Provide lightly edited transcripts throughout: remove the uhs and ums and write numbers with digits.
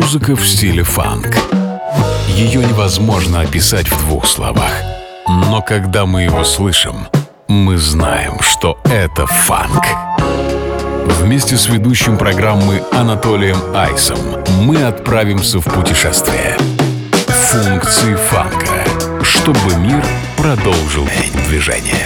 Музыка в стиле фанк. Ее невозможно описать в двух словах. Но когда мы его слышим, мы знаем, что это фанк. Вместе с ведущим программы Анатолием Айсом мы отправимся в путешествие. Функции фанка, чтобы мир продолжил движение.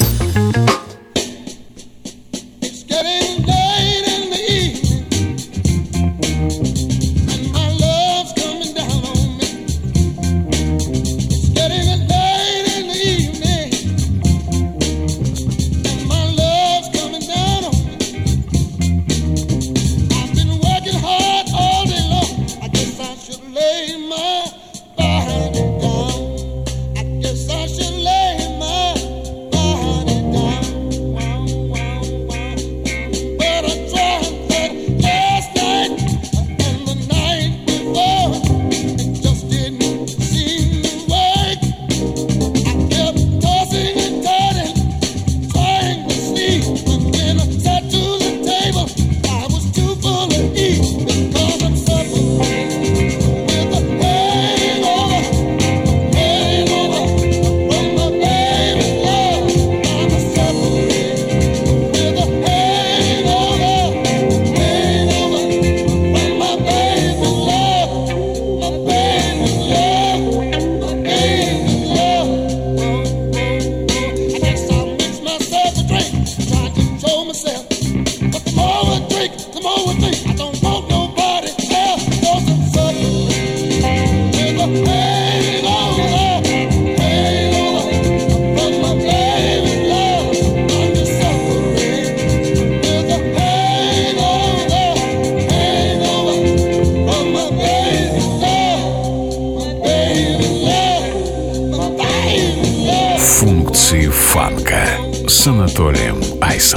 Функции фанка с Анатолием Айсом.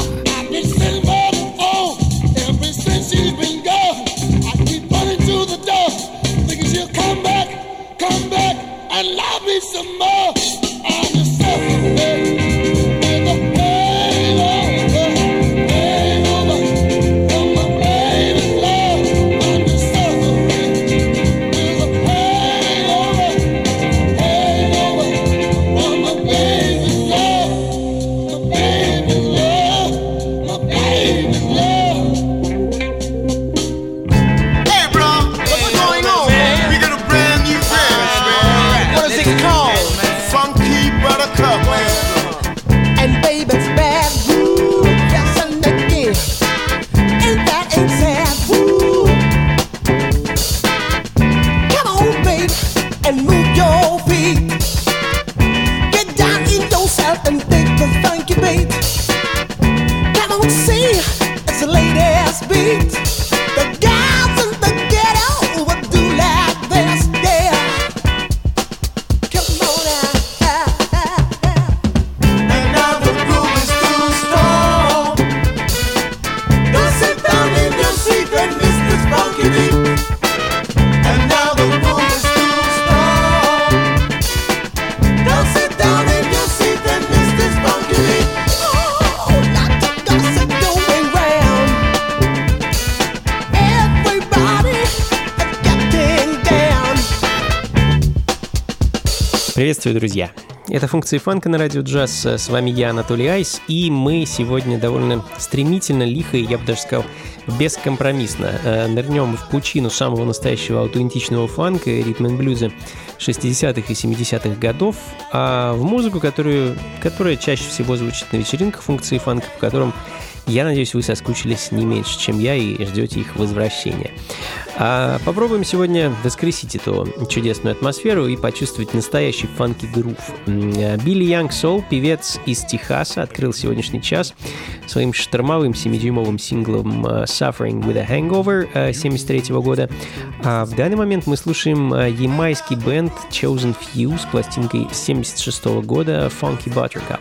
Приветствую, друзья! Это функции фанка на радио джаз. С вами я, Анатолий Айс, и мы сегодня довольно стремительно, лихо, и я бы даже сказал, бескомпромиссно нырнем в пучину самого настоящего аутентичного фанка и ритм-н-блюза 60-х и 70-х годов, а в музыку, которая чаще всего звучит на вечеринках функции фанка, по которым, я надеюсь, вы соскучились не меньше, чем я, и ждете их возвращения. Попробуем сегодня воскресить эту чудесную атмосферу и почувствовать настоящий фанки-грув. Билли Янг Соул, певец из Техаса, открыл сегодняшний час своим штормовым 7-дюймовым синглом «Suffering with a Hangover» 1973 года. А в данный момент мы слушаем ямайский бенд Chosen Few с пластинкой 1976 года «Funky Buttercup».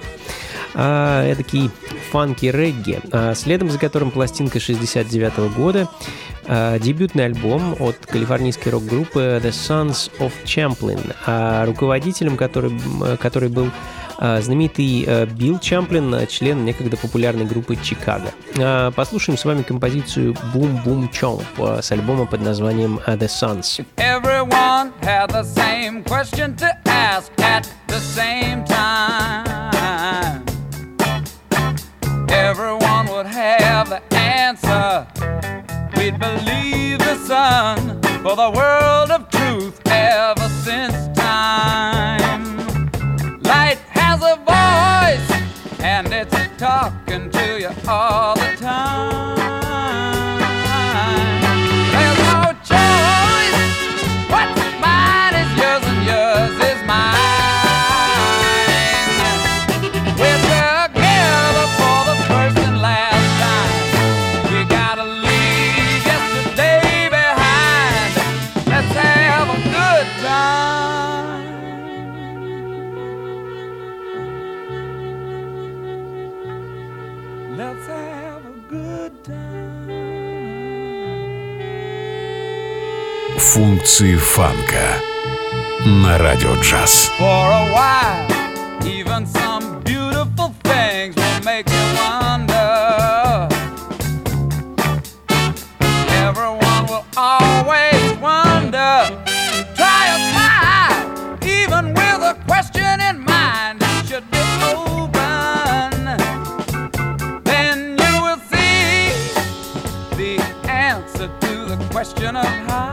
Эдакий фанки-регги, следом за которым пластинка 1969 года, дебютный альбом от калифорнийской рок-группы The Sons of Champlin, руководителем который был знаменитый Билл Чамплин, член некогда популярной группы «Чикаго». Послушаем с вами композицию «Boom Boom Chomp» с альбома под названием «The Sons». Everyone had the same question to ask at the same time. Everyone would have the answer. We'd believe the sun for the world of truth ever since time. Light has a voice and it's talking to you all the time. There's no choice. What's mine is yours and yours is mine. We're together for the first and last time. We gotta leave yesterday behind. Let's have a good time. Let's have a good time. Функции фанка на радио джаз. For a while, even some beautiful things will make you wonder. Everyone will always wonder. Try a smile, even with a question in mind. It should be open. Then you will see the answer to the question of how.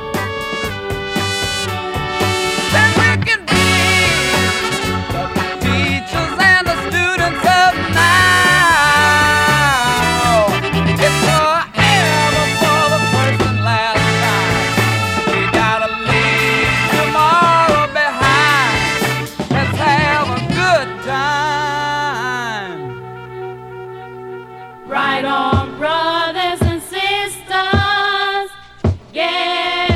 Then we can be the teachers and the students of now. It's forever for the first and last time. We gotta leave tomorrow behind. Let's have a good time. Right on, brothers and sisters. Yeah.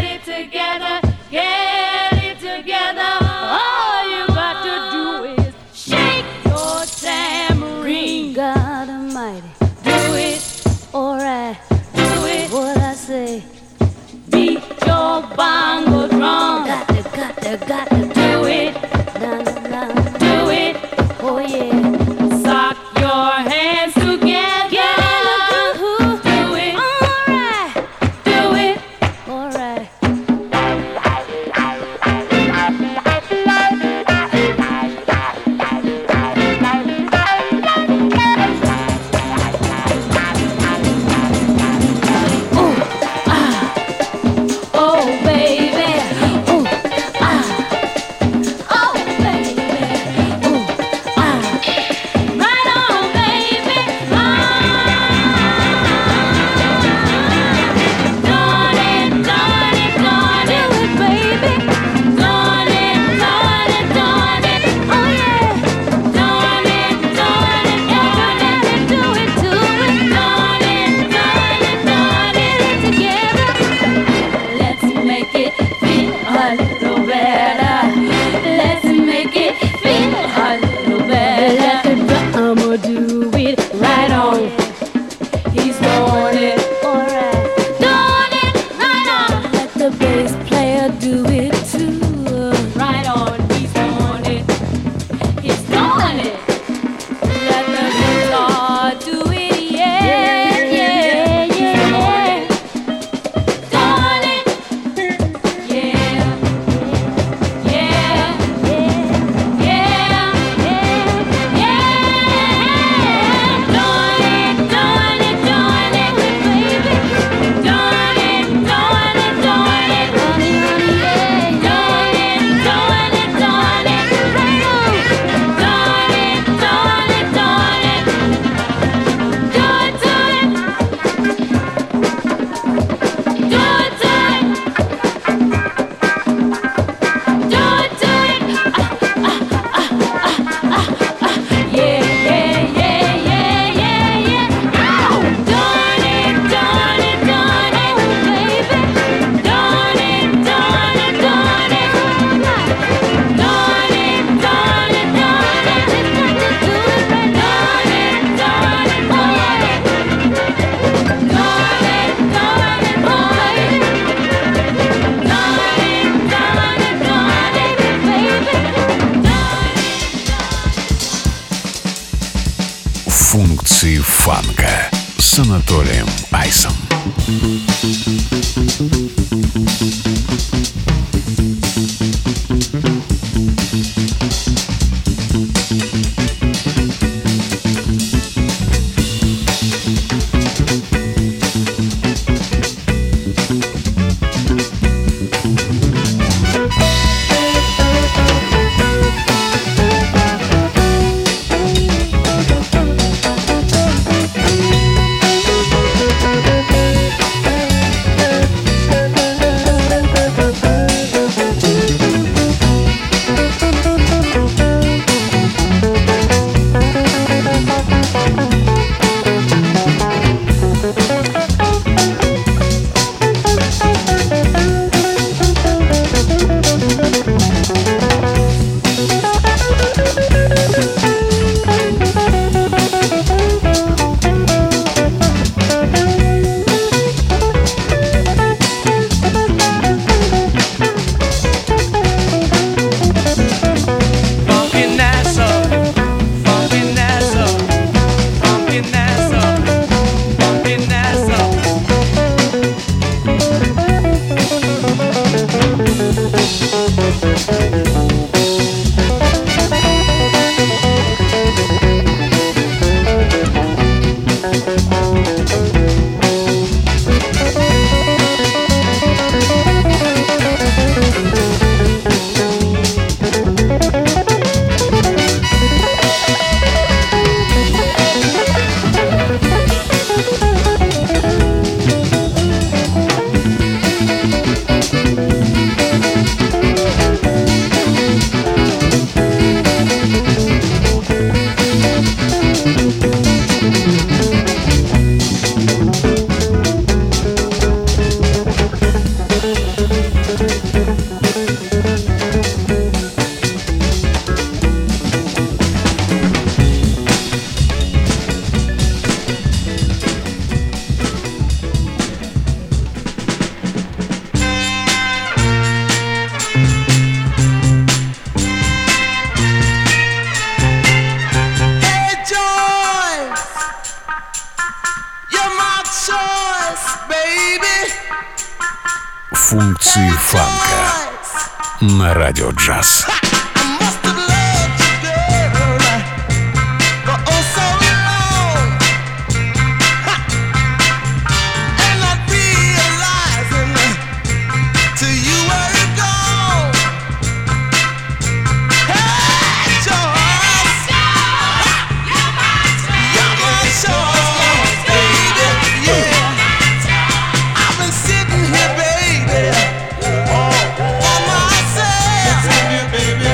фанка с Анатолием Айсом. Функции фанка на радио джаз. Baby,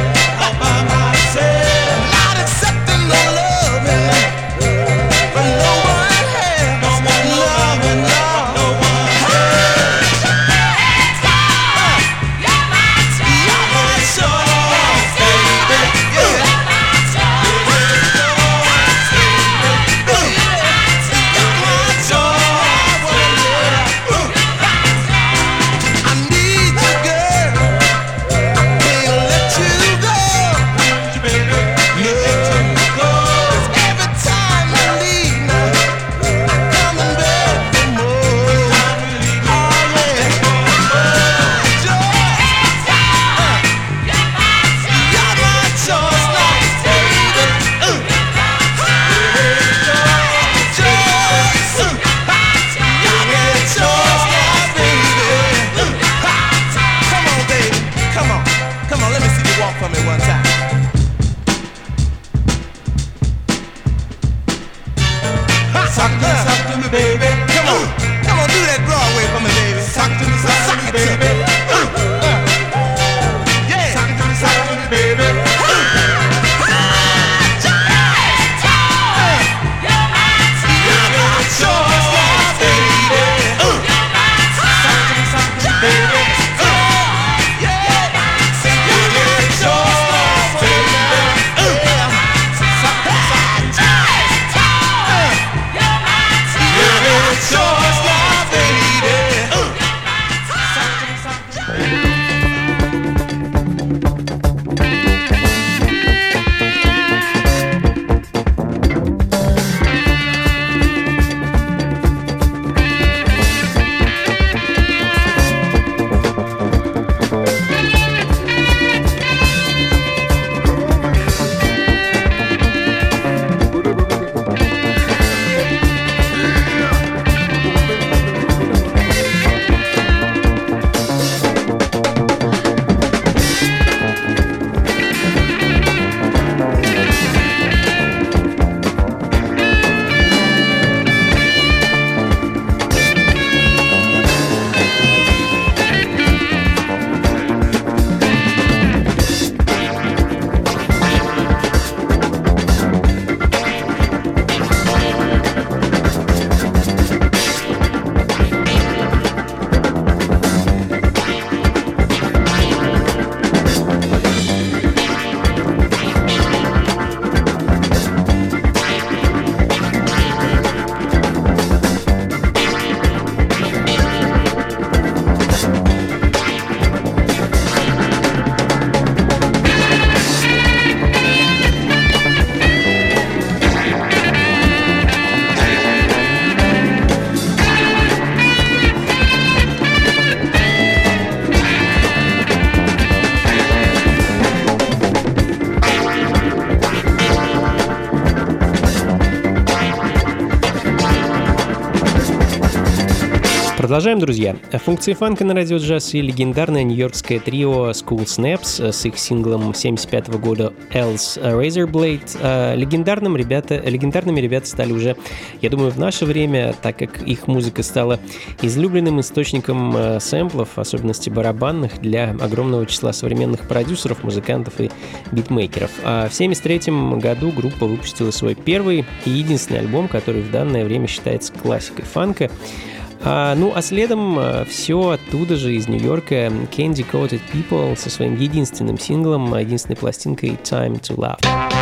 Продолжаем, друзья. Функции фанка на радио джаз и легендарное нью-йоркское трио School Snaps с их синглом 1975 года Elle's Razorblade. Легендарными ребята стали уже, я думаю, в наше время, так как их музыка стала излюбленным источником сэмплов, в особенности барабанных, для огромного числа современных продюсеров, музыкантов и битмейкеров. А в 1973 году группа выпустила свой первый и единственный альбом, который в данное время считается классикой фанка. А следом все оттуда же, из Нью-Йорка, Candy Coated People со своим единственным синглом, единственной пластинкой Time to Love.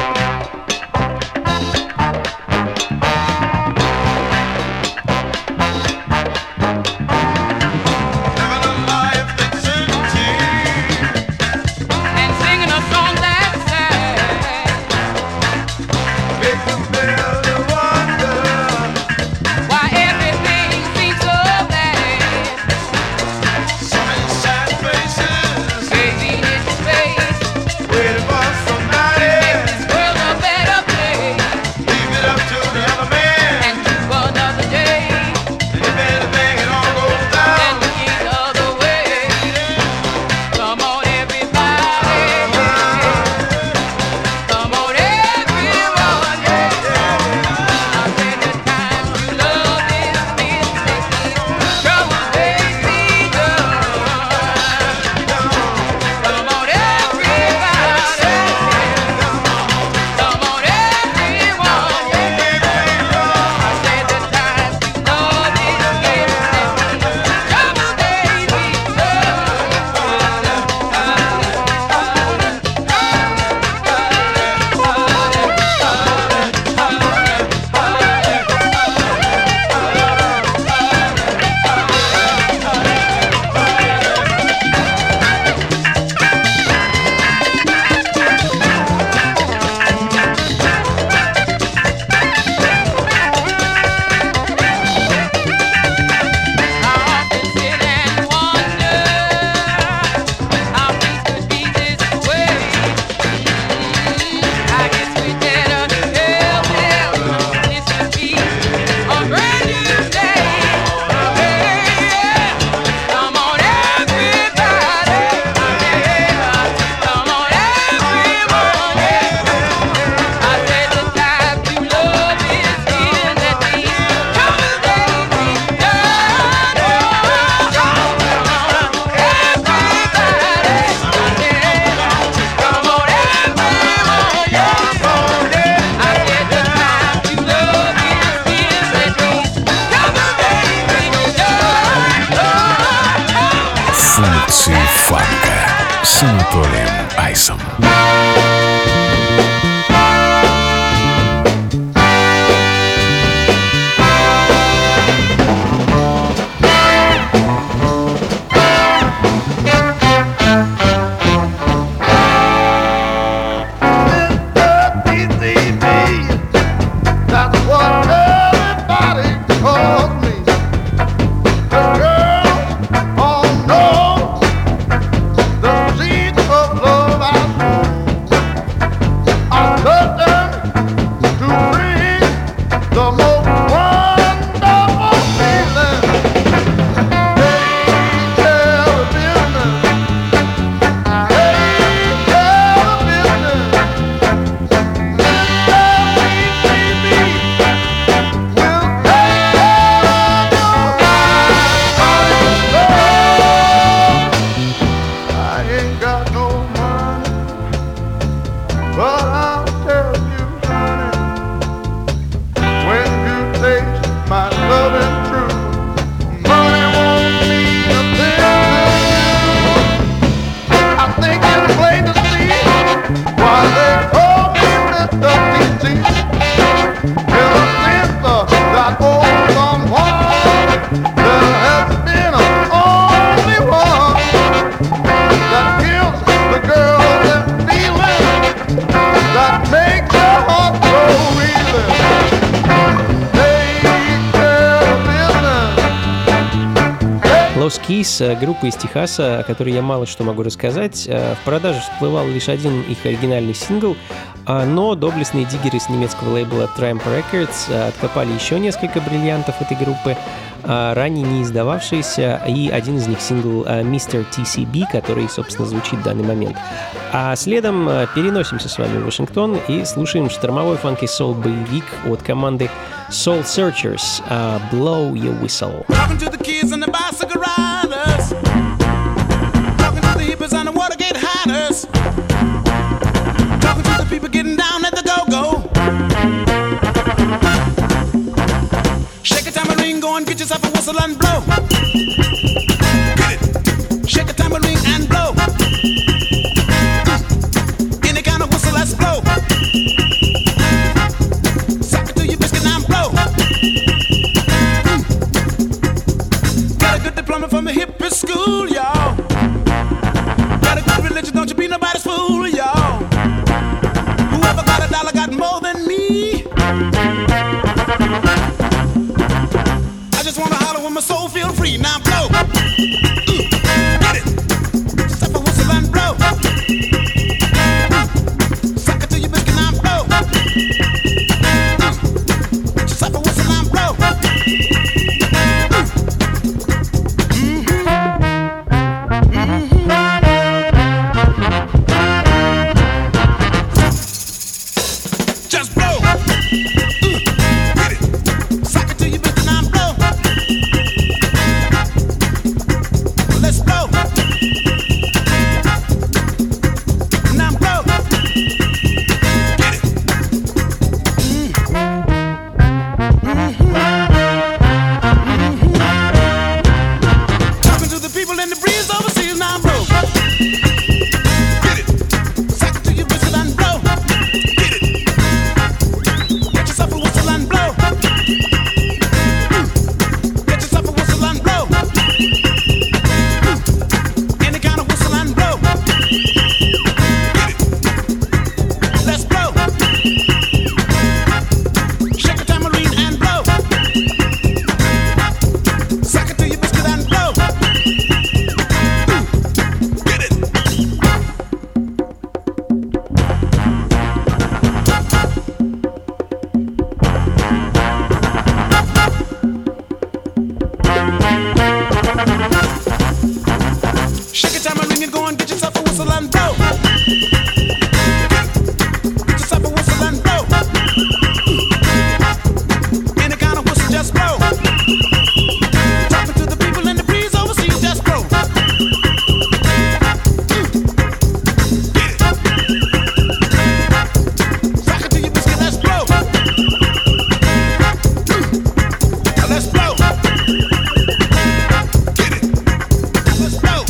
с Анатолием Айсом. Группа из Техаса, о которой я мало что могу рассказать. В продаже всплывал лишь один их оригинальный сингл, но доблестные диггеры с немецкого лейбла Triumph Records откопали еще несколько бриллиантов этой группы. ранее не издававшиеся, и один из них сингл Mr. TCB, который, собственно, звучит в данный момент. А следом переносимся с вами в Вашингтон и слушаем штормовой фанки-соул-боевик от команды Soul Searchers «Blow Your Whistle». People getting down at the go-go. Shake a tambourine, go and get yourself a whistle and blow. Get it. Shake a tambourine and blow. Any kind of whistle, let's blow. Suck it to your biscuit and blow. Got a good diploma from the hippie school, y'all. Got a good religion, don't you be nobody's fool, y'all. Whoever got $1 got more than me. I just wanna holler when my soul feel free. Now blow. Get it. Step a whistle and blow. Suck it to your biscuit and blow. Step a whistle and blow. Just blow. Get it. Suck it to your biscuit and blow. Let's blow. Now blow. Get it. Talking to the people in the breeze overseas. Now blow. Get it. Suck it to your biscuit and blow. Get it. Get yourself a whistle and blow. Get yourself a whistle and blow. Any kind of whistle and blow. Get it. Let's blow. Shake a tambourine and blow. Suck it to your biscuit and blow. Get it. Shake a tambourine and go and get yourself a whistle and blow. Get yourself a whistle and blow. Any kind of whistle, just blow. Talking to the people in the breeze overseas, just blow. Get it. Suck it to your biscuit, let's blow. Let's blow. Get it. Let's blow.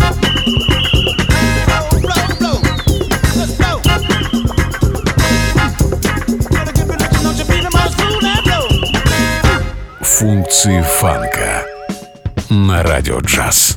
Blow, blow, blow. Let's blow. Gotta get religion, don't you be the most fool and blow. Функции фанка на радио джаз.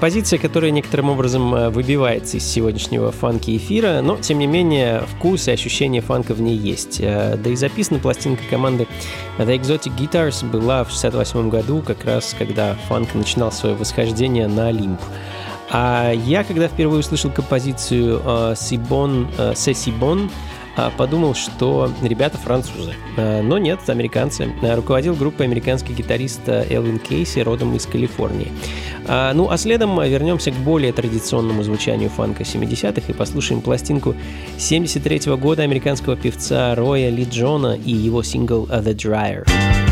Композиция, которая некоторым образом выбивается из сегодняшнего фанки-эфира, но, тем не менее, вкус и ощущение фанка в ней есть. Да и записана пластинка команды The Exotic Guitars была в 1968 году, как раз когда фанк начинал свое восхождение на Олимп. А я, когда впервые услышал композицию «C'est si bon», подумал, что ребята французы. Но нет, американцы. Руководил группой американский гитарист Элвин Кейси, родом из Калифорнии. Ну, а следом вернемся к более традиционному звучанию фанка 70-х и послушаем пластинку 73-го года американского певца Роя Ли Джона и его сингл «The Dryer».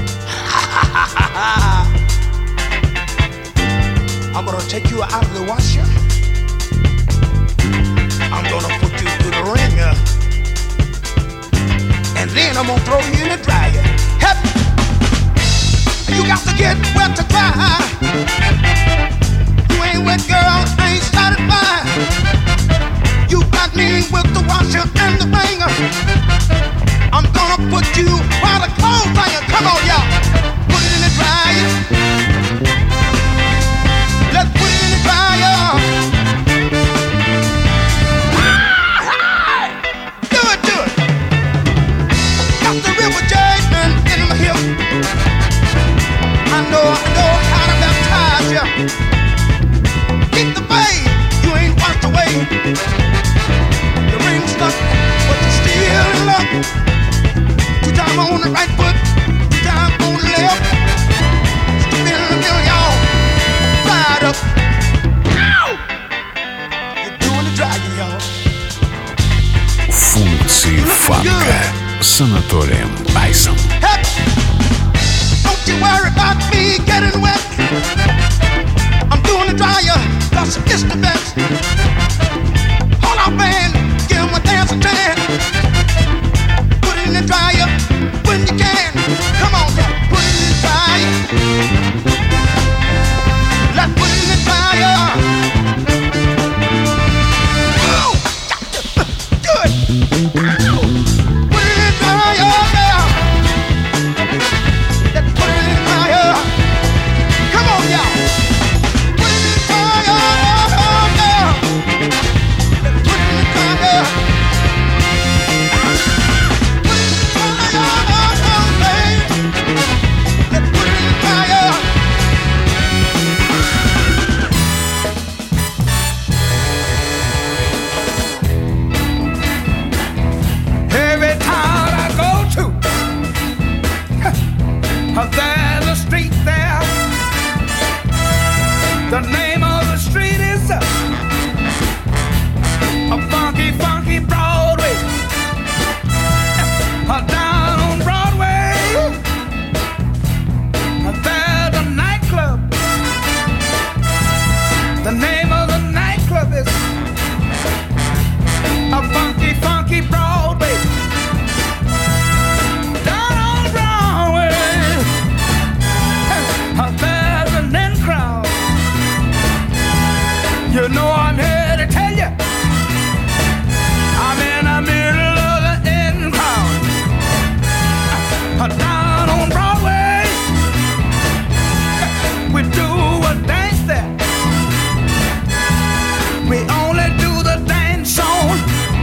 I'm gonna take you out of the washer. I'm gonna put you through the ringer. And then I'm gonna throw you in the dryer. Help! You got to get wet to dry. You ain't wet, girl, ain't satisfied. You got me with the washer and the ringer. I'm gonna put you while the clothes hanging. Come on, y'all. Put it in the dryer. Let's put it in the dryer. Do it, do it. Got the river jasmine in my hip. I know how to baptize ya. Keep the babe, you ain't washed away. The ring stuck, but you still in love. 2 times on the right foot, 2 times on the left. Still in the middle, y'all. Ride up. Ow! You're doing the dragging, y'all. Функции фанка с Анатолием Айсом. Hey! Don't you worry about me getting wet. I'm doing the dryer, plus it's the best. Hold on, man, give him a dancing tan. Put it in the dryer when you can. Come on, now, put it in the dryer. Let's put it in the dryer. Oh, do it. Put it in the dryer, yeah. Let's put it in the dryer. Come on, y'all. Put it in the dryer, yeah. Let's put it in the dryer. Put it in the dryer, baby. Let's put it in the dryer. Every town I go to, there's a street there. The name of the street is a funky, funky Broadway. Down on Broadway, there's a nightclub. The name of the nightclub is a funky, funky Broadway. Down on Broadway, there's an in crowd. You know I'm here to tell you, I'm in the middle of the in crowd. Down on Broadway, we do a dance there. We only do the dance on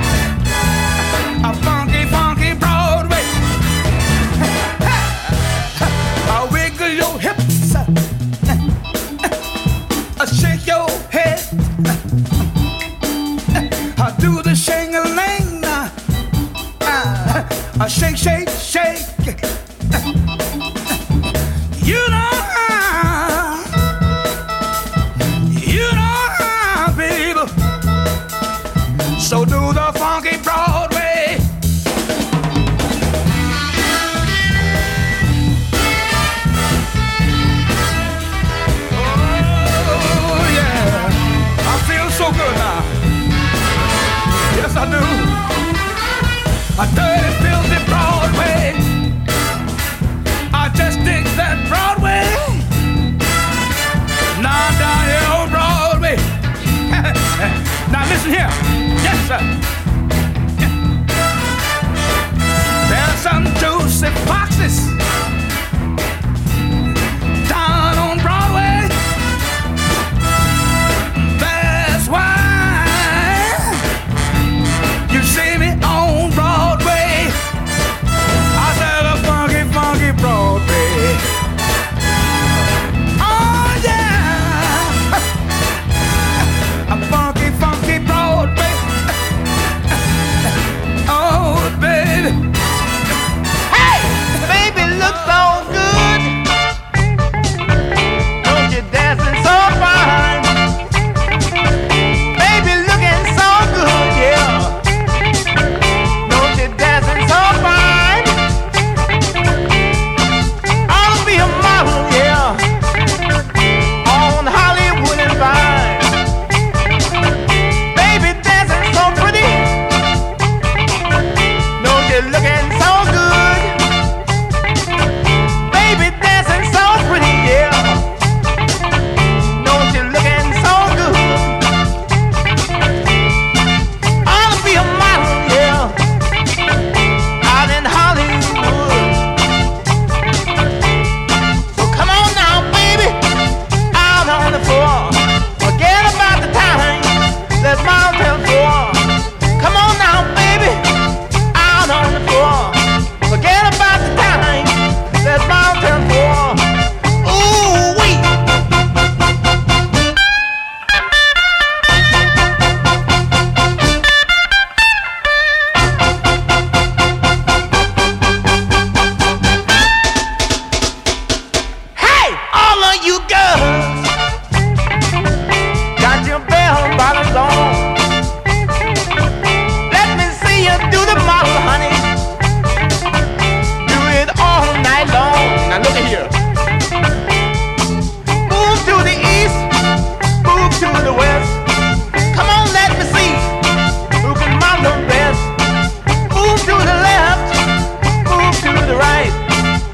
a funky, funky Broadway. Wiggle your hips, shake your head, do the shing-a-ling, shake, shake, shake. You know how, baby. So do the funky Broadway. Oh yeah, I feel so good now. Yes, I do. A dirty, filthy Broadway. I just dig that Broadway. Now down here on Broadway. Now listen here. Yes, sir. There's some juicy foxes down on Broadway.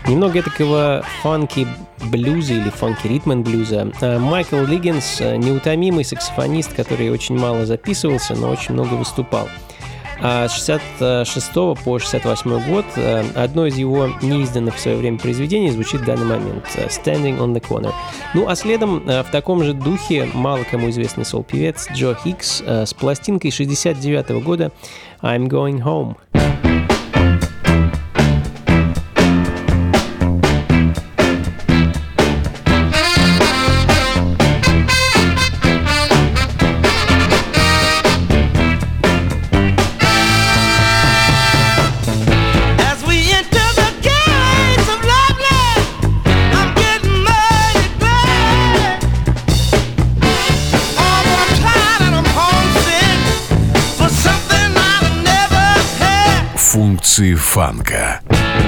Немного такого фанки-блюза или фанки-ритм-н-блюза. Майкл Лиггинс — неутомимый саксофонист, который очень мало записывался, но очень много выступал. А с 66 по 68 год одно из его неизданных в свое время произведений звучит в данный момент — «Standing on the Corner». Ну а следом в таком же духе мало кому известный сол-певец Джо Хикс с пластинкой 69 года «I'm Going Home». Функции фанка.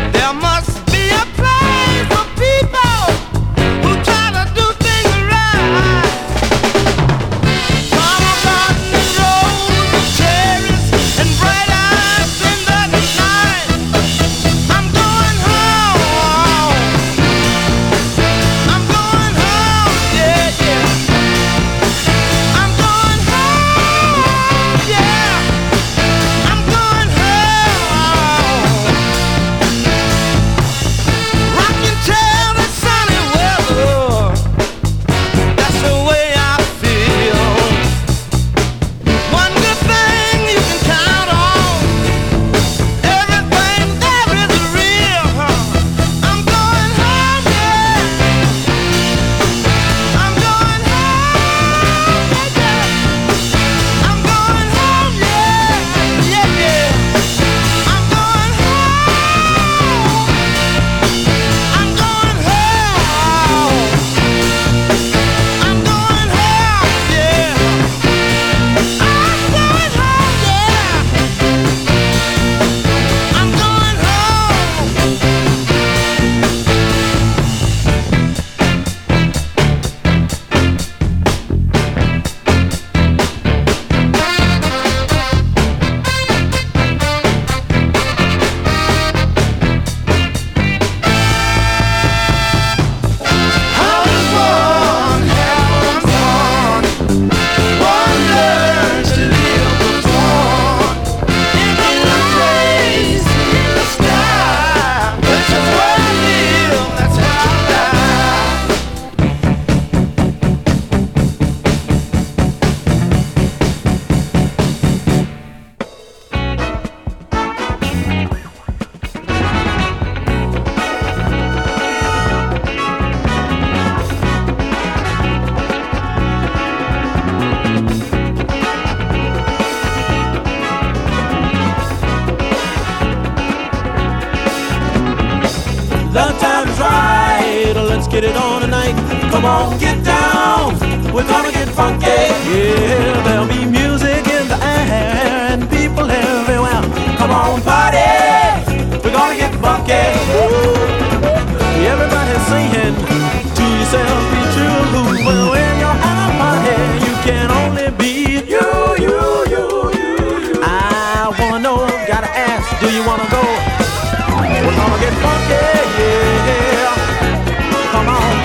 The time's right, let's get it on tonight. Come on, get down, we're gonna get funky. Yeah, there'll be music in the air and people everywhere. Come on, party, we're gonna get funky. Everybody's singing, to yourself be true. Well, when you're at a party, you can only be you. I wanna know, gotta ask, do you wanna go? We're gonna get funky, yeah. Come on.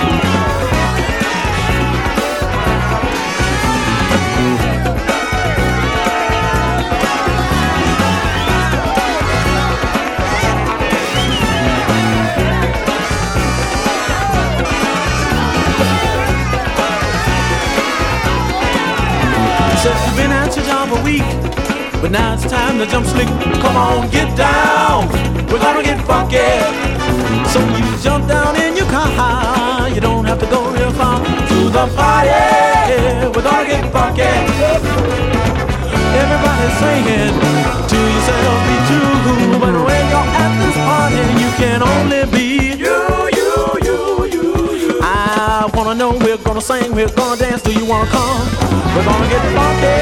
Said you've been at your job a week, but now it's time to jump slick. Come on, get down, we're gonna get funky. So you jump down in your car, you don't have to go real far to the party. We're gonna get funky. Everybody's singing, to yourself be true. But when you're at this party, you can only be you. I wanna know, we're gonna sing, we're gonna dance. Do you wanna come? We're gonna get funky.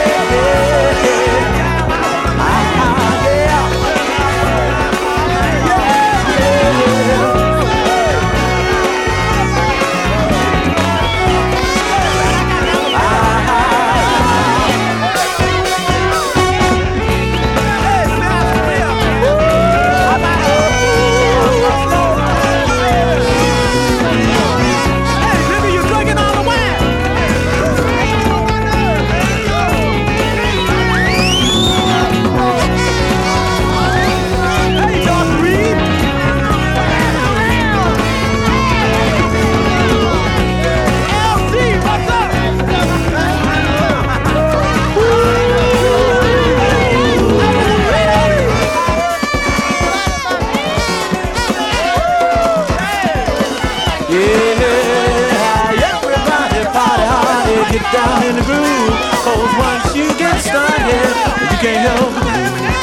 Yeah, everybody party hard, get down in the groove. 'Cause once you get started, you can't help it.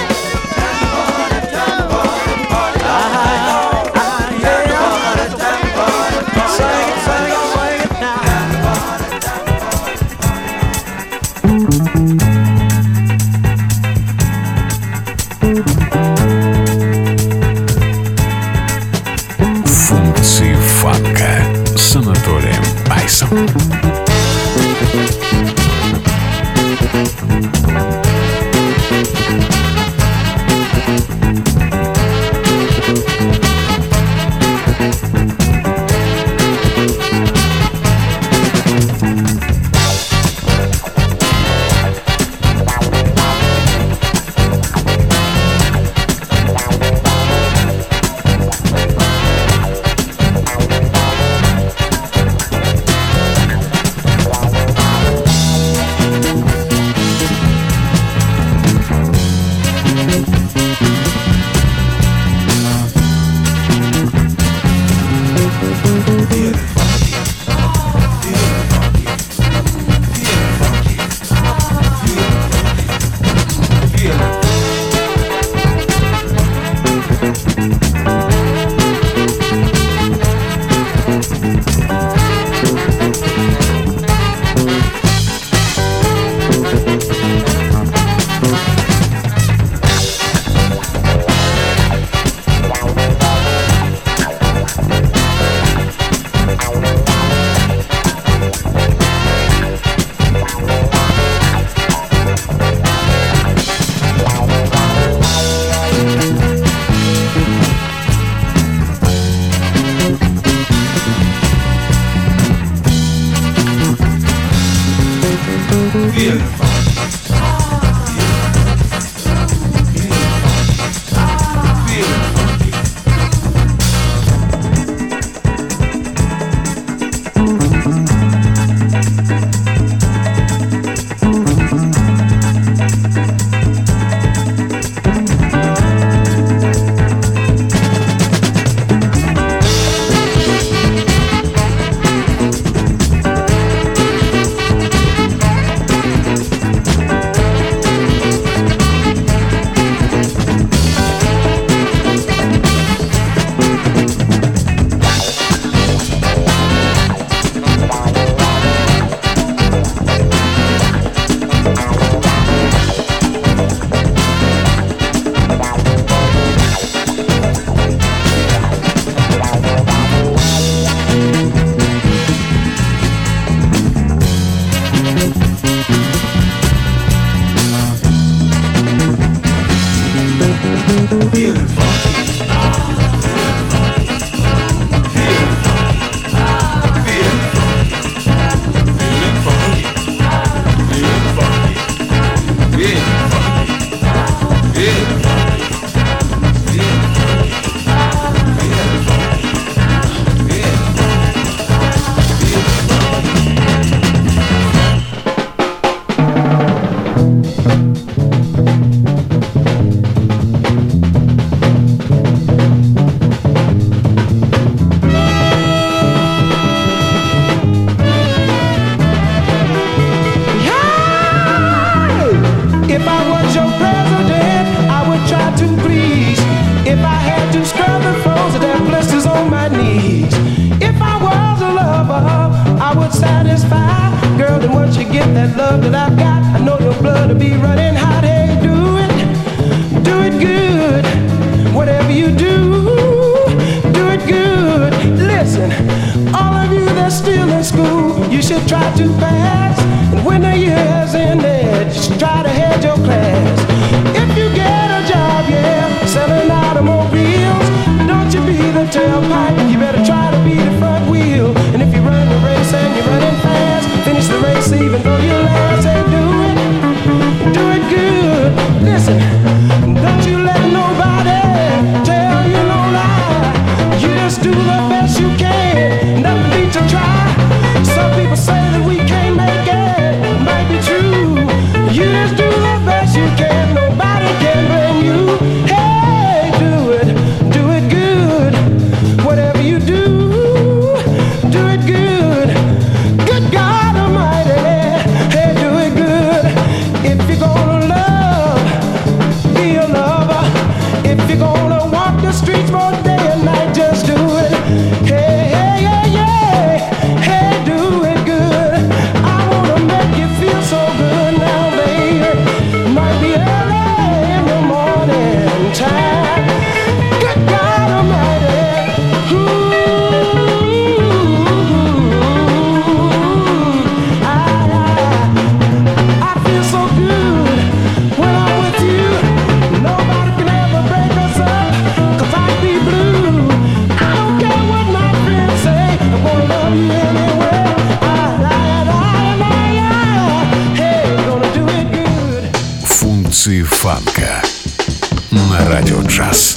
Функции фанка с Анатолием Айсом. You can фанка на радио джаз.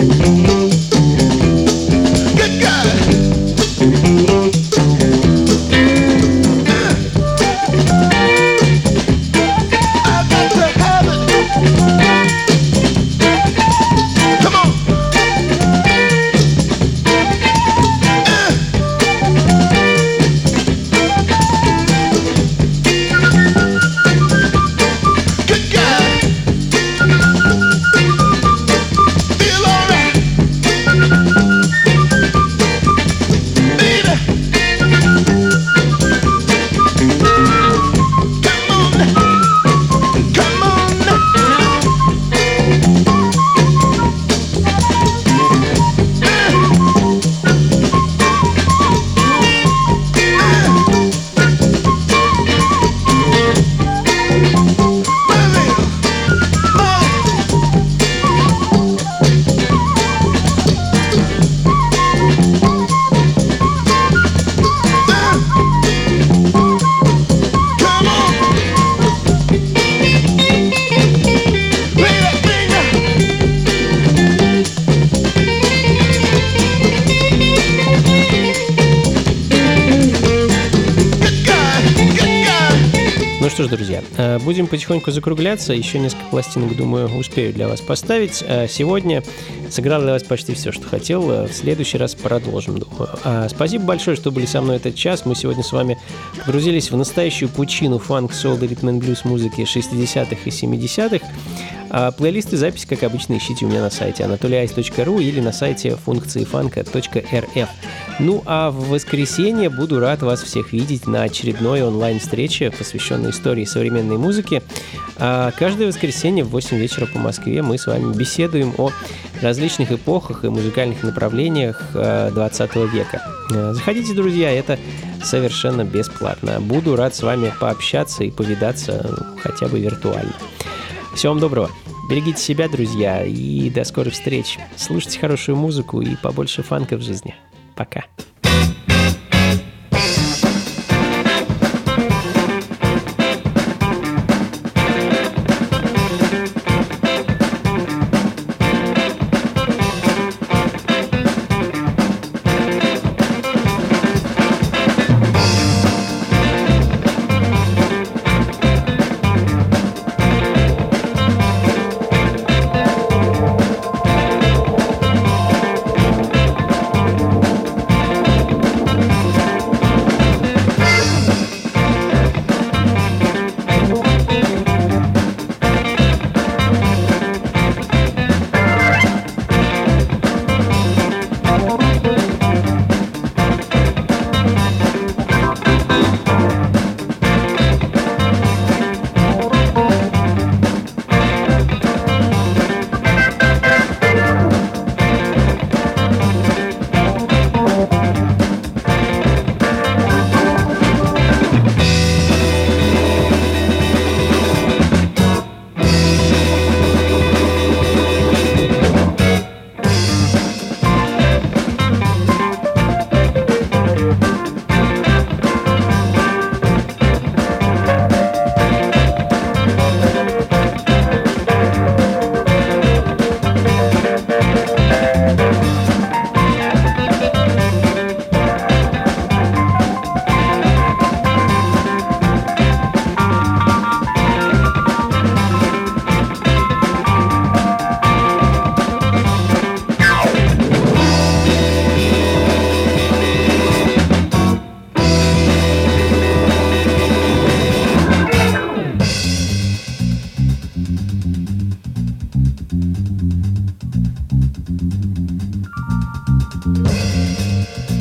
Что ж, друзья, будем потихоньку закругляться. Еще несколько пластинок, думаю, успею для вас поставить. Сегодня сыграл для вас почти все, что хотел. В следующий раз продолжим, думаю. Спасибо большое, что были со мной этот час. Мы сегодня с вами погрузились в настоящую пучину фанк, соул и ритм-н-блюз музыки 60-х и 70-х. Плейлисты, записи, как обычно, ищите у меня на сайте anatolyice.ru или на сайте функциифанка.рф. Ну а в воскресенье буду рад вас всех видеть на очередной онлайн-встрече, посвященной истории современной музыки. Каждое воскресенье в 8 вечера по Москве мы с вами беседуем о различных эпохах и музыкальных направлениях 20 века. Заходите, друзья, это совершенно бесплатно. Буду рад с вами пообщаться и повидаться хотя бы виртуально. Всего вам доброго. Берегите себя, друзья, и до скорых встреч. Слушайте хорошую музыку и побольше фанка в жизни. Пока.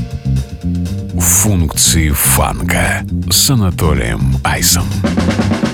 Функции фанка с Анатолием Айсом.